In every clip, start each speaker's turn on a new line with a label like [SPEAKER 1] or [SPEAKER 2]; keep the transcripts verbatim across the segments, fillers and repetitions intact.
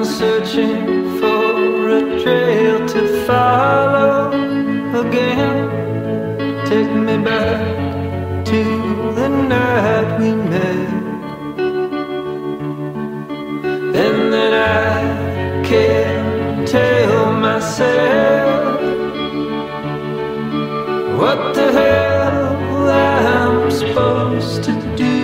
[SPEAKER 1] searching for a trail to follow again. Take me back to the night we met, and then I can't tell myself what the hell I'm supposed to do.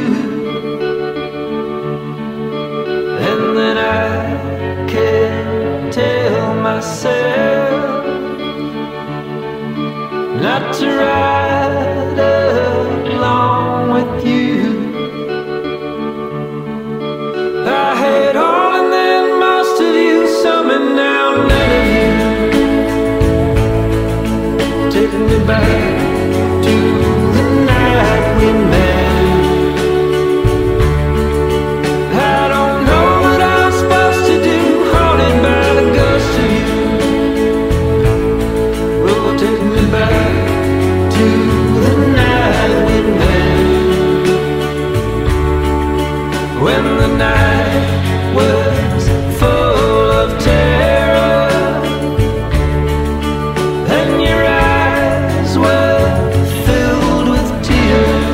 [SPEAKER 1] And then I can't tell myself not to ride along with you. I had all and then most of you, some and now none of you. Take me back to the night we met. I don't know what I'm supposed to do, haunted by the ghost of you. Oh, take me back to the night we met, when the night was full of terror and your eyes were filled with tears,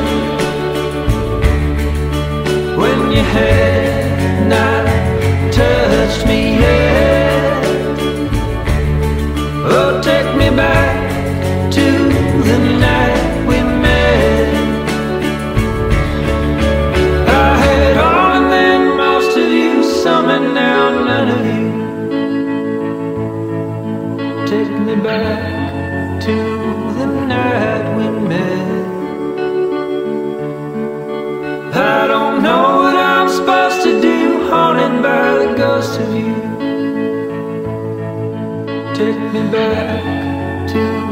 [SPEAKER 1] when you had not touched me yet. Oh, take me back to the night we met. I had all and then most of you, some and now none of you. Take me back to the night we met. I don't know what I'm supposed to do, haunted by the ghost of you. Take me back to